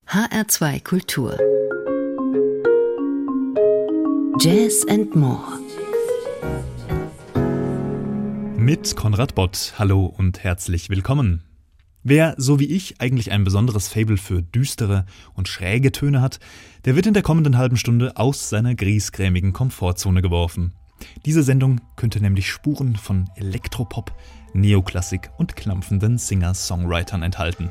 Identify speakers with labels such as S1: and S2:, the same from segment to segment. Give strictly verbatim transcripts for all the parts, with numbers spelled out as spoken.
S1: H R zwei Kultur Jazz and More
S2: mit Konrad Bott. Hallo und herzlich willkommen. Wer, so wie ich, eigentlich ein besonderes Faible für düstere und schräge Töne hat, der wird in der kommenden halben Stunde aus seiner griesgrämigen Komfortzone geworfen. Diese Sendung könnte nämlich Spuren von Elektropop, Neoklassik und klampfenden Singer-Songwritern enthalten.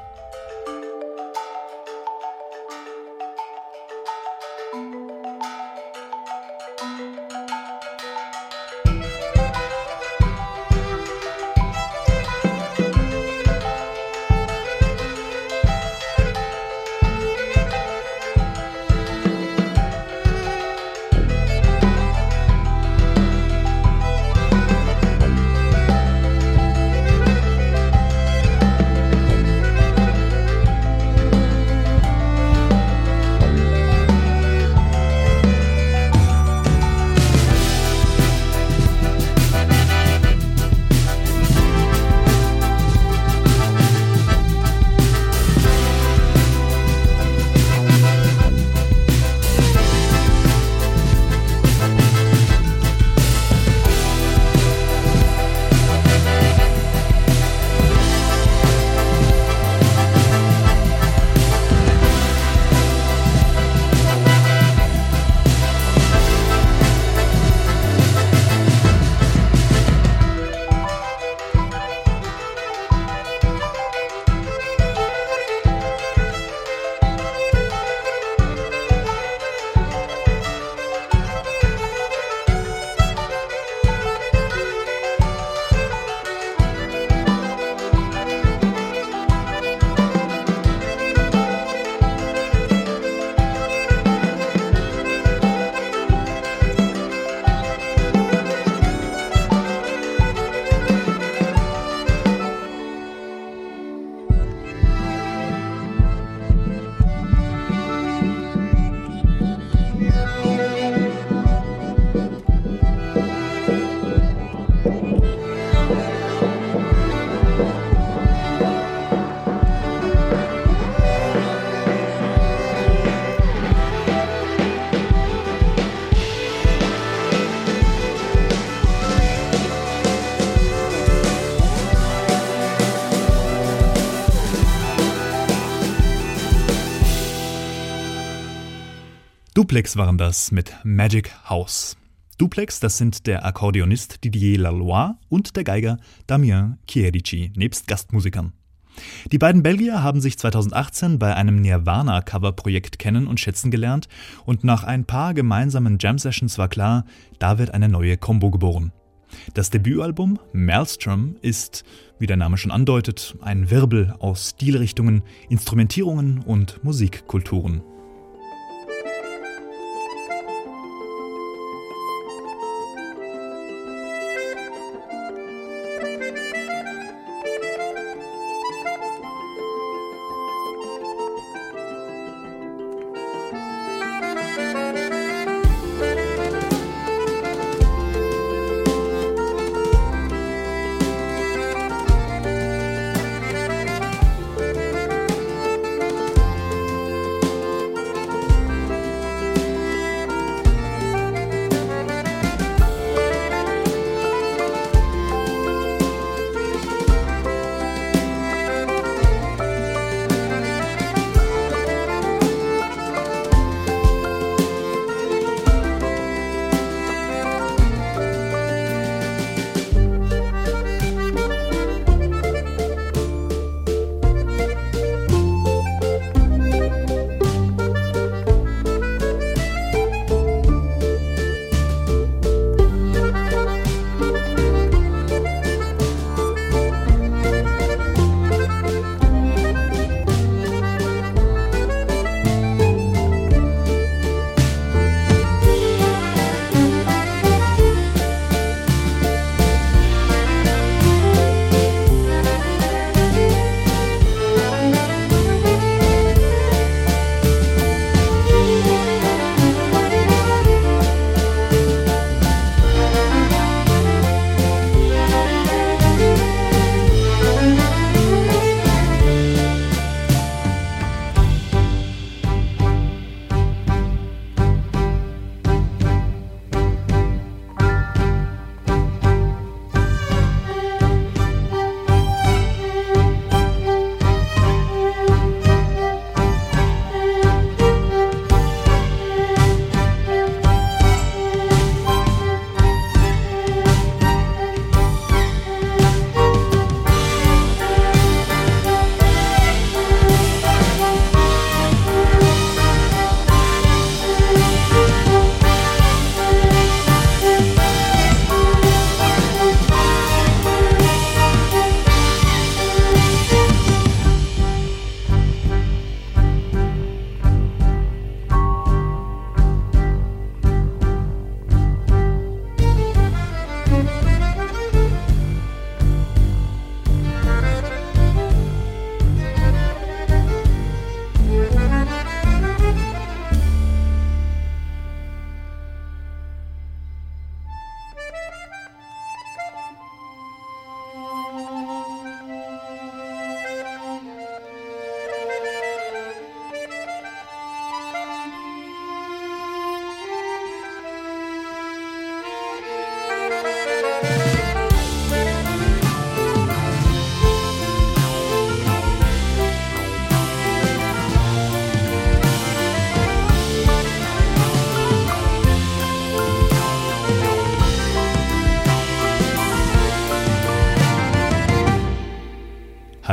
S2: Duplex waren das mit Magic House. Duplex, das sind der Akkordeonist Didier Laloy und der Geiger Damien Chierici, nebst Gastmusikern. Die beiden Belgier haben sich zweitausendachtzehn bei einem Nirvana-Cover-Projekt kennen und schätzen gelernt und nach ein paar gemeinsamen Jam-Sessions war klar, da wird eine neue Combo geboren. Das Debütalbum Maelstrom ist, wie der Name schon andeutet, ein Wirbel aus Stilrichtungen, Instrumentierungen und Musikkulturen.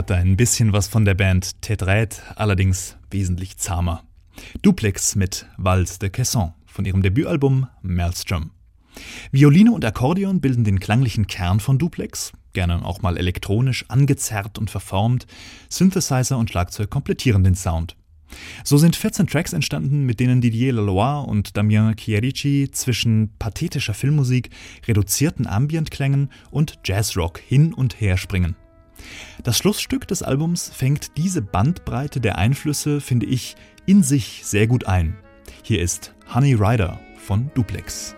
S2: hat ein bisschen was von der Band Tetraed, allerdings wesentlich zahmer. Duplex mit Valse de Caisson von ihrem Debütalbum Maelstrom. Violine und Akkordeon bilden den klanglichen Kern von Duplex, gerne auch mal elektronisch angezerrt und verformt. Synthesizer und Schlagzeug komplettieren den Sound. So sind vierzehn Tracks entstanden, mit denen Didier Laloy und Damien Chierici zwischen pathetischer Filmmusik, reduzierten Ambientklängen und Jazzrock hin und her springen. Das Schlussstück des Albums fängt diese Bandbreite der Einflüsse, finde ich, in sich sehr gut ein. Hier ist Honey Rider von Duplex.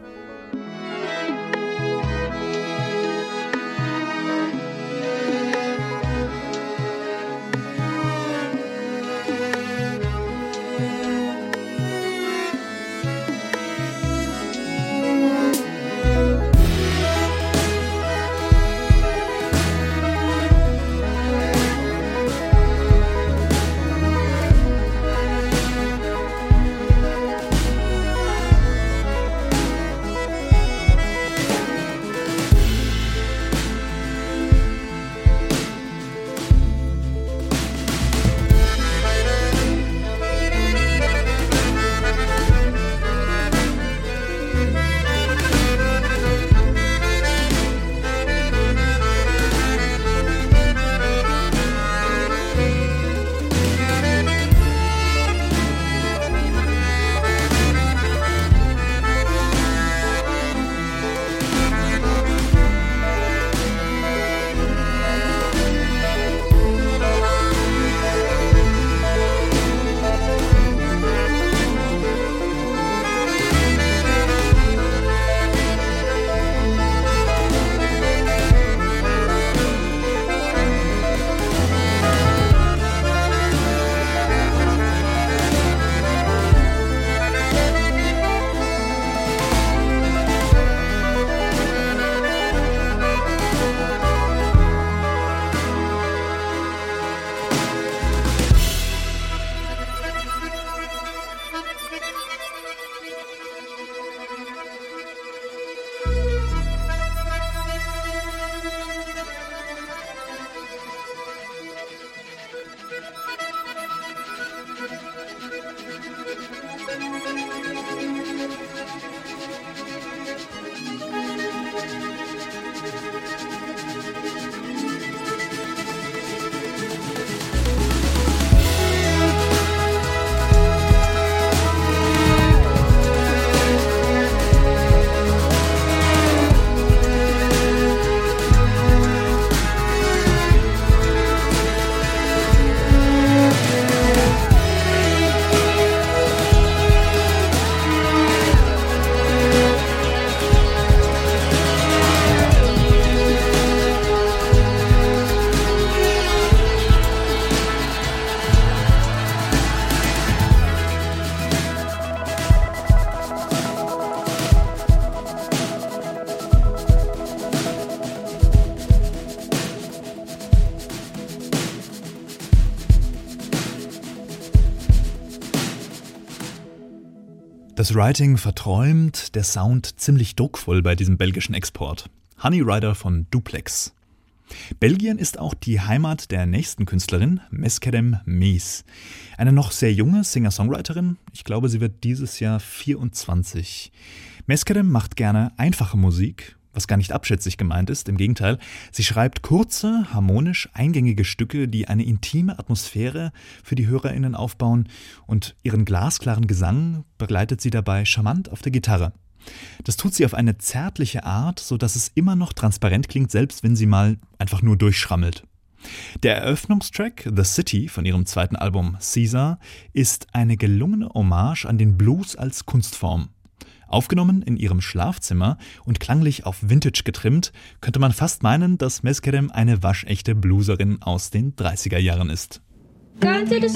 S2: Das Writing verträumt, der Sound ziemlich druckvoll bei diesem belgischen Export. Honey Rider von Duplex. Belgien ist auch die Heimat der nächsten Künstlerin, Meskedem Mees. Eine noch sehr junge Singer-Songwriterin, ich glaube, sie wird dieses Jahr vierundzwanzig. Meskedem macht gerne einfache Musik, was gar nicht abschätzig gemeint ist, im Gegenteil. Sie schreibt kurze, harmonisch eingängige Stücke, die eine intime Atmosphäre für die HörerInnen aufbauen, und ihren glasklaren Gesang begleitet sie dabei charmant auf der Gitarre. Das tut sie auf eine zärtliche Art, sodass es immer noch transparent klingt, selbst wenn sie mal einfach nur durchschrammelt. Der Eröffnungstrack The City von ihrem zweiten Album Caesar ist eine gelungene Hommage an den Blues als Kunstform. Aufgenommen in ihrem Schlafzimmer und klanglich auf Vintage getrimmt, könnte man fast meinen, dass Meskedem eine waschechte Blueserin aus den dreißiger Jahren ist.
S3: Gone to the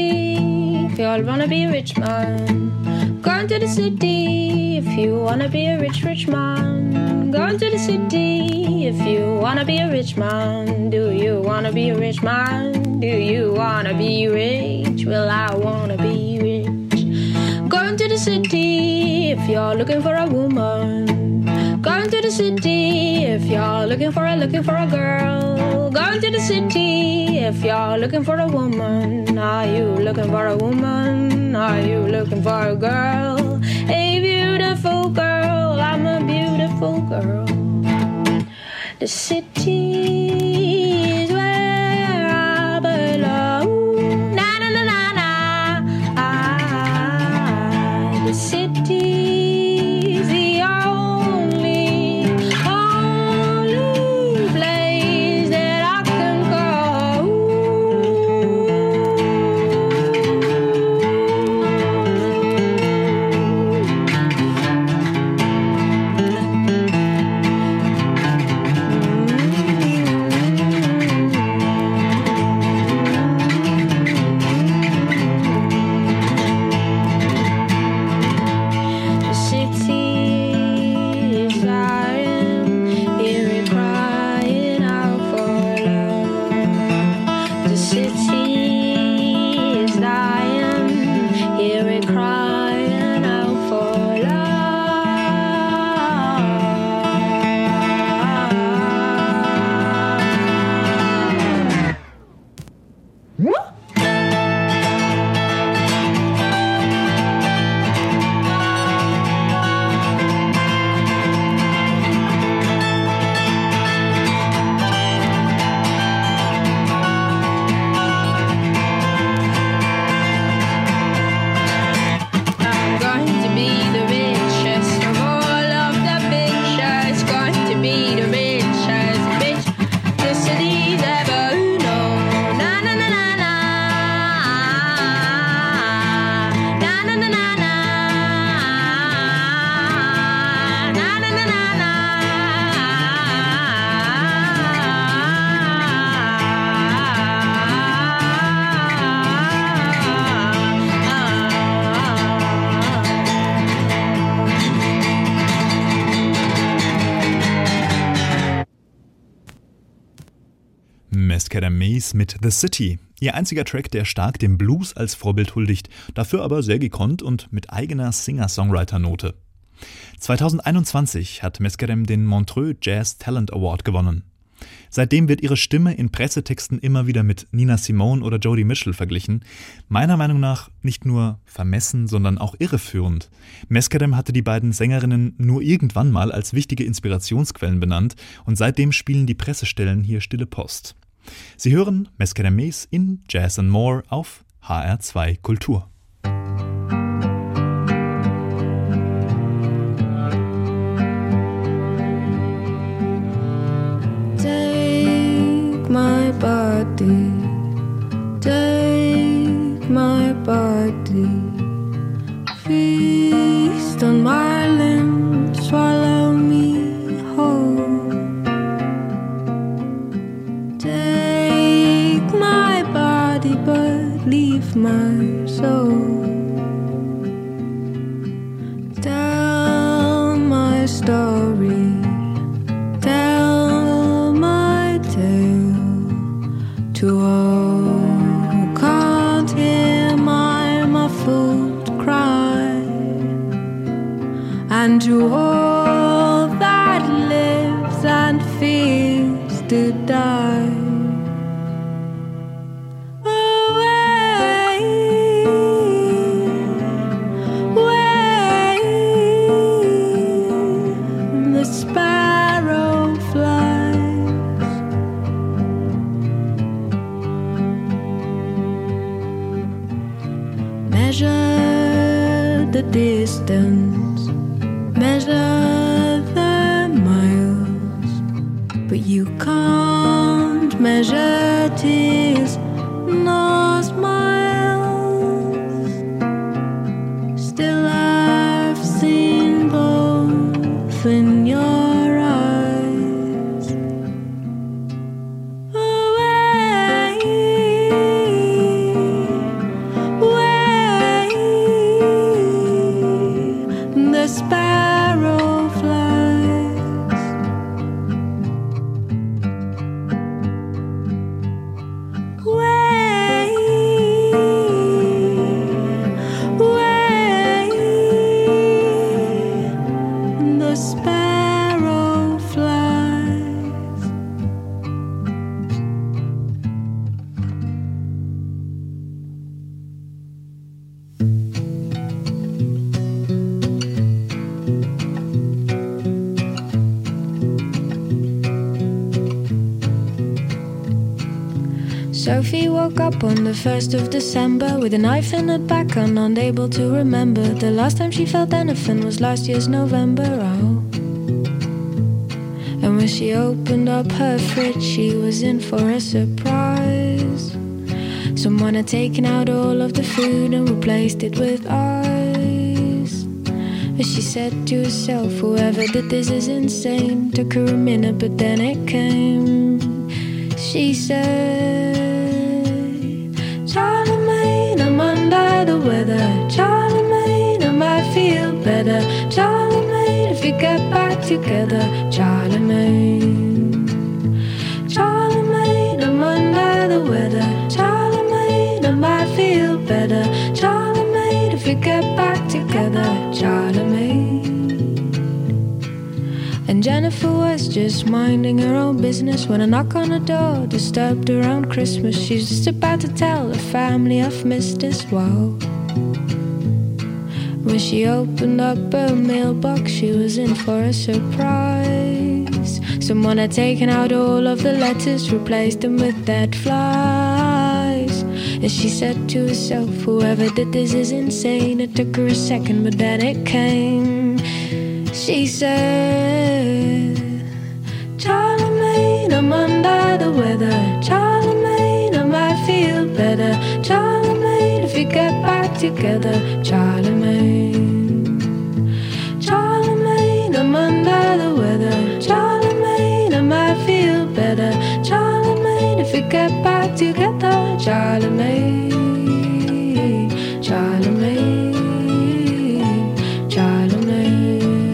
S3: city if you all wanna be a rich man. Gone to the city if you wanna be a rich, rich man. Gone to the city if you wanna be a rich man. Do you wanna be a rich man? Do you wanna be rich? Well, I wanna be rich. Gone to the city if you're looking for a woman. Gone to the the city if you're looking for a, looking for a girl. Going to the city if you're looking for a woman. Are you looking for a woman? Are you looking for a girl? A beautiful girl, I'm a beautiful girl. The city is where I belong. Na na na na na. Ah, the city is the only, only place that I can go.
S2: Mescada Maze mit The City. Ihr einziger Track, der stark dem Blues als Vorbild huldigt, dafür aber sehr gekonnt und mit eigener Singer-Songwriter-Note. zweitausendeinundzwanzig hat Mescadem den Montreux Jazz Talent Award gewonnen. Seitdem wird ihre Stimme in Pressetexten immer wieder mit Nina Simone oder Joni Mitchell verglichen. Meiner Meinung nach nicht nur vermessen, sondern auch irreführend. Mescadem hatte die beiden Sängerinnen nur irgendwann mal als wichtige Inspirationsquellen benannt und seitdem spielen die Pressestellen hier stille Post. Sie hören Mescadem Maze in Jazz and More auf H R zwei Kultur.
S3: My body, take my body, feast on my limbs, swallow me whole. Take my body, but leave my soul. Tell my story, tell my tale. To all who can't hear my muffled cry, and to all that lives and fears to die. Away, away, the sparrow flies. Measure the distance, measure the miles, but you can't measure tears nor smiles. Still I've seen both in your eyes. Away, the sparrow flies. Way, way, the sparrow Sophie woke up on the first of December with a knife in her back and unable to remember. The last time she felt anything was last year's November. Oh. And when she opened up her fridge, she was in for a surprise. Someone had taken out all of the food and replaced it with ice. But she said to herself, whoever did this is insane. Took her a minute, but then it came. She said, Charlemagne, I'm under the weather. Charlemagne, I might feel better. Charlemagne, if we get back together. Charlemagne, Charlemagne, I'm under the weather. Charlemagne, I might feel better. Charlemagne, if we get back together. Charlemagne. And Jennifer was just minding her own business when a knock on the door disturbed around Christmas. She's just about to tell her family of Missus Wow. When she opened up her mailbox, she was in for a surprise. Someone had taken out all of the letters, replaced them with dead flies. And she said to herself, whoever did this is insane. It took her a second, but then it came. She said, Charlemagne, I'm under the weather. Charlemagne, I might feel better. Charlemagne, if we get back together. Charlemagne, Charlemagne, I'm under the weather. Charlemagne, I might feel better. Charlemagne, if we get back together. Charlemagne, Charlemagne, Charlemagne.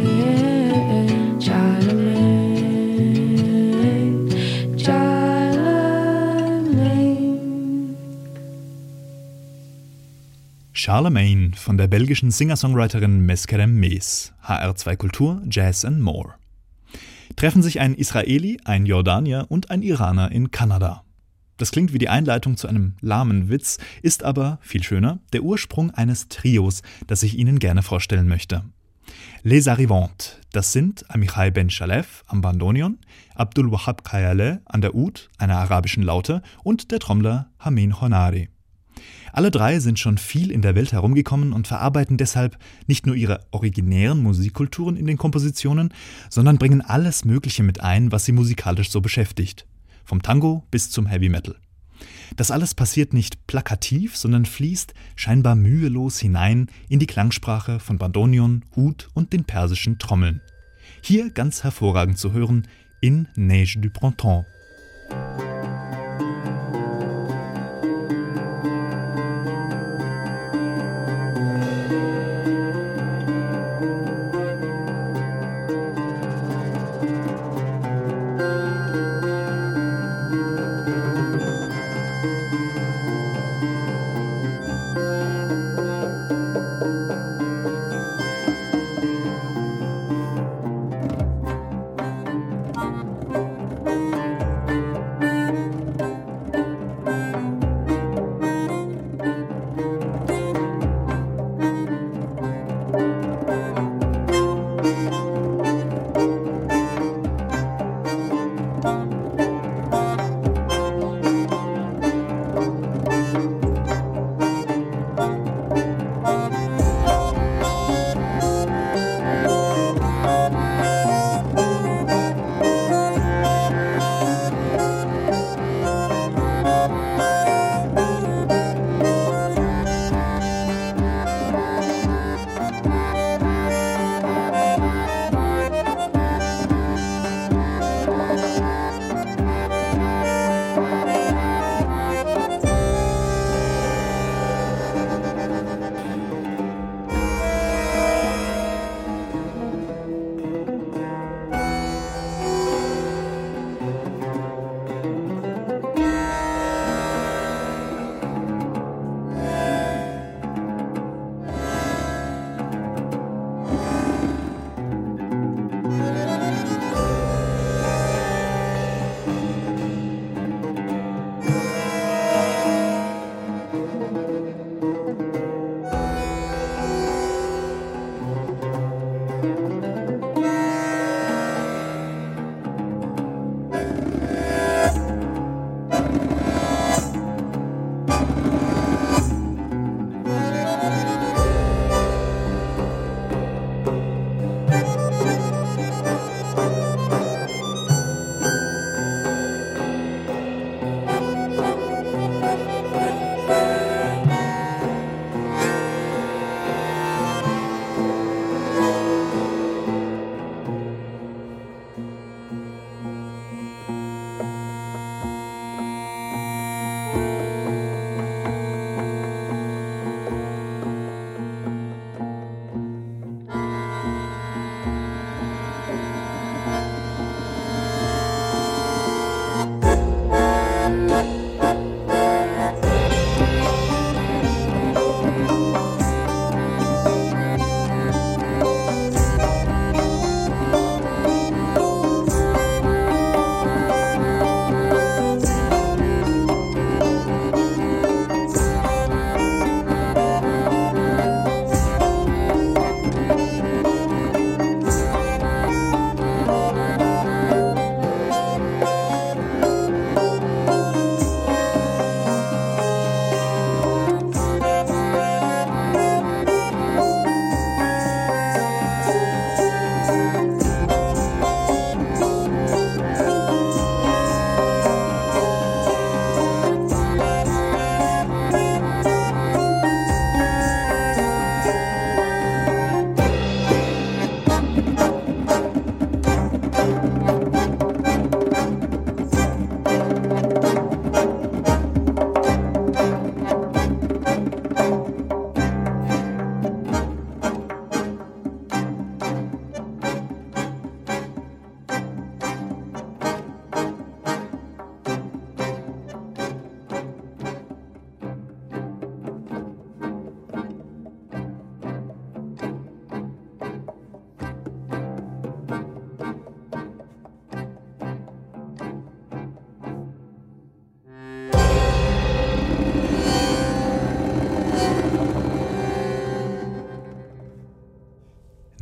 S2: Charlemagne von der belgischen Singer-Songwriterin Meskerem Mees, H R zwei Kultur, Jazz and More. Treffen sich ein Israeli, ein Jordanier und ein Iraner in Kanada. Das klingt wie die Einleitung zu einem lahmen Witz, ist aber, viel schöner, der Ursprung eines Trios, das ich Ihnen gerne vorstellen möchte. Les Arrivantes, das sind Amichai Ben Shalef am Bandonion, Abdul Wahab Khayaleh an der Oud, einer arabischen Laute, und der Trommler Hamin Honari. Alle drei sind schon viel in der Welt herumgekommen und verarbeiten deshalb nicht nur ihre originären Musikkulturen in den Kompositionen, sondern bringen alles Mögliche mit ein, was sie musikalisch so beschäftigt. Vom Tango bis zum Heavy Metal. Das alles passiert nicht plakativ, sondern fließt scheinbar mühelos hinein in die Klangsprache von Bandonion, Oud und den persischen Trommeln. Hier ganz hervorragend zu hören in Neige du Printemps.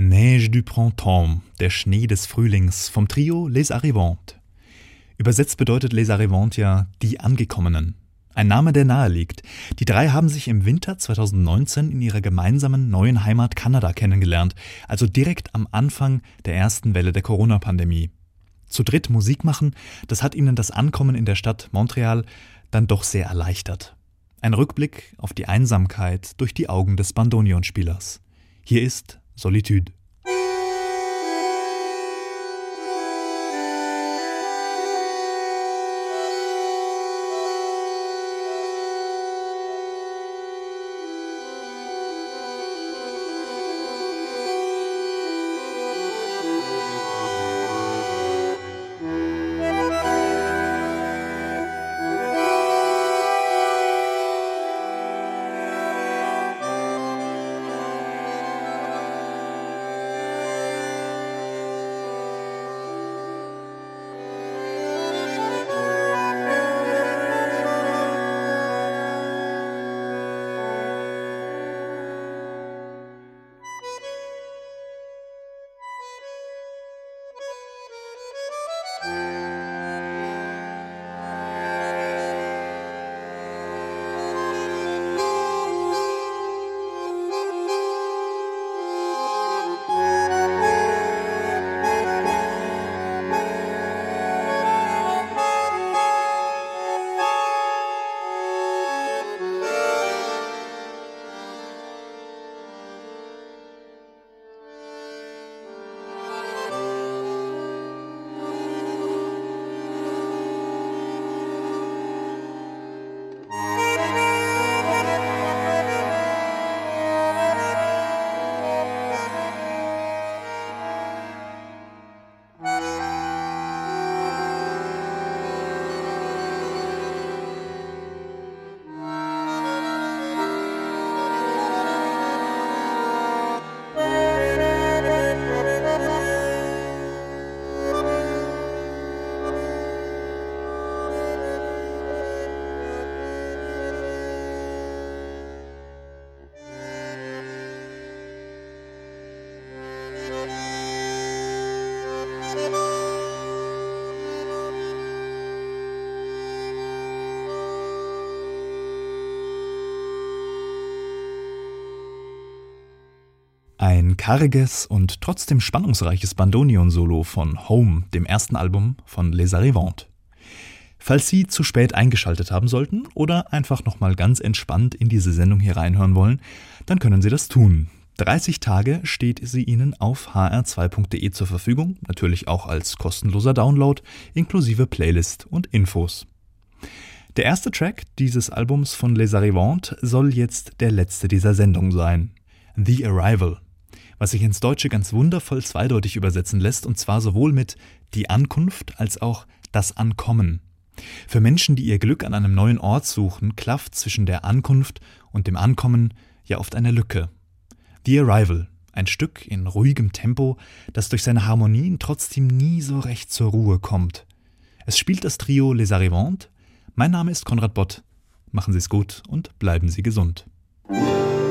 S2: Neige du printemps, der Schnee des Frühlings, vom Trio Les Arrivantes. Übersetzt bedeutet Les Arrivantes ja die Angekommenen. Ein Name, der nahe liegt. Die drei haben sich im Winter zweitausendneunzehn in ihrer gemeinsamen neuen Heimat Kanada kennengelernt, also direkt am Anfang der ersten Welle der Corona-Pandemie. Zu dritt Musik machen, das hat ihnen das Ankommen in der Stadt Montreal dann doch sehr erleichtert. Ein Rückblick auf die Einsamkeit durch die Augen des Bandoneonspielers. Hier ist Solitude. Ein karges und trotzdem spannungsreiches Bandoneon-Solo von Home, dem ersten Album von Les Arrivantes. Falls Sie zu spät eingeschaltet haben sollten oder einfach nochmal ganz entspannt in diese Sendung hier reinhören wollen, dann können Sie das tun. dreißig Tage steht sie Ihnen auf h r zwei punkt d e zur Verfügung, natürlich auch als kostenloser Download, inklusive Playlist und Infos. Der erste Track dieses Albums von Les Arrivantes soll jetzt der letzte dieser Sendung sein. The Arrival, was sich ins Deutsche ganz wundervoll zweideutig übersetzen lässt, und zwar sowohl mit die Ankunft als auch das Ankommen. Für Menschen, die ihr Glück an einem neuen Ort suchen, klafft zwischen der Ankunft und dem Ankommen ja oft eine Lücke. The Arrival, ein Stück in ruhigem Tempo, das durch seine Harmonien trotzdem nie so recht zur Ruhe kommt. Es spielt das Trio Les Arrivantes. Mein Name ist Konrad Bott. Machen Sie es gut und bleiben Sie gesund.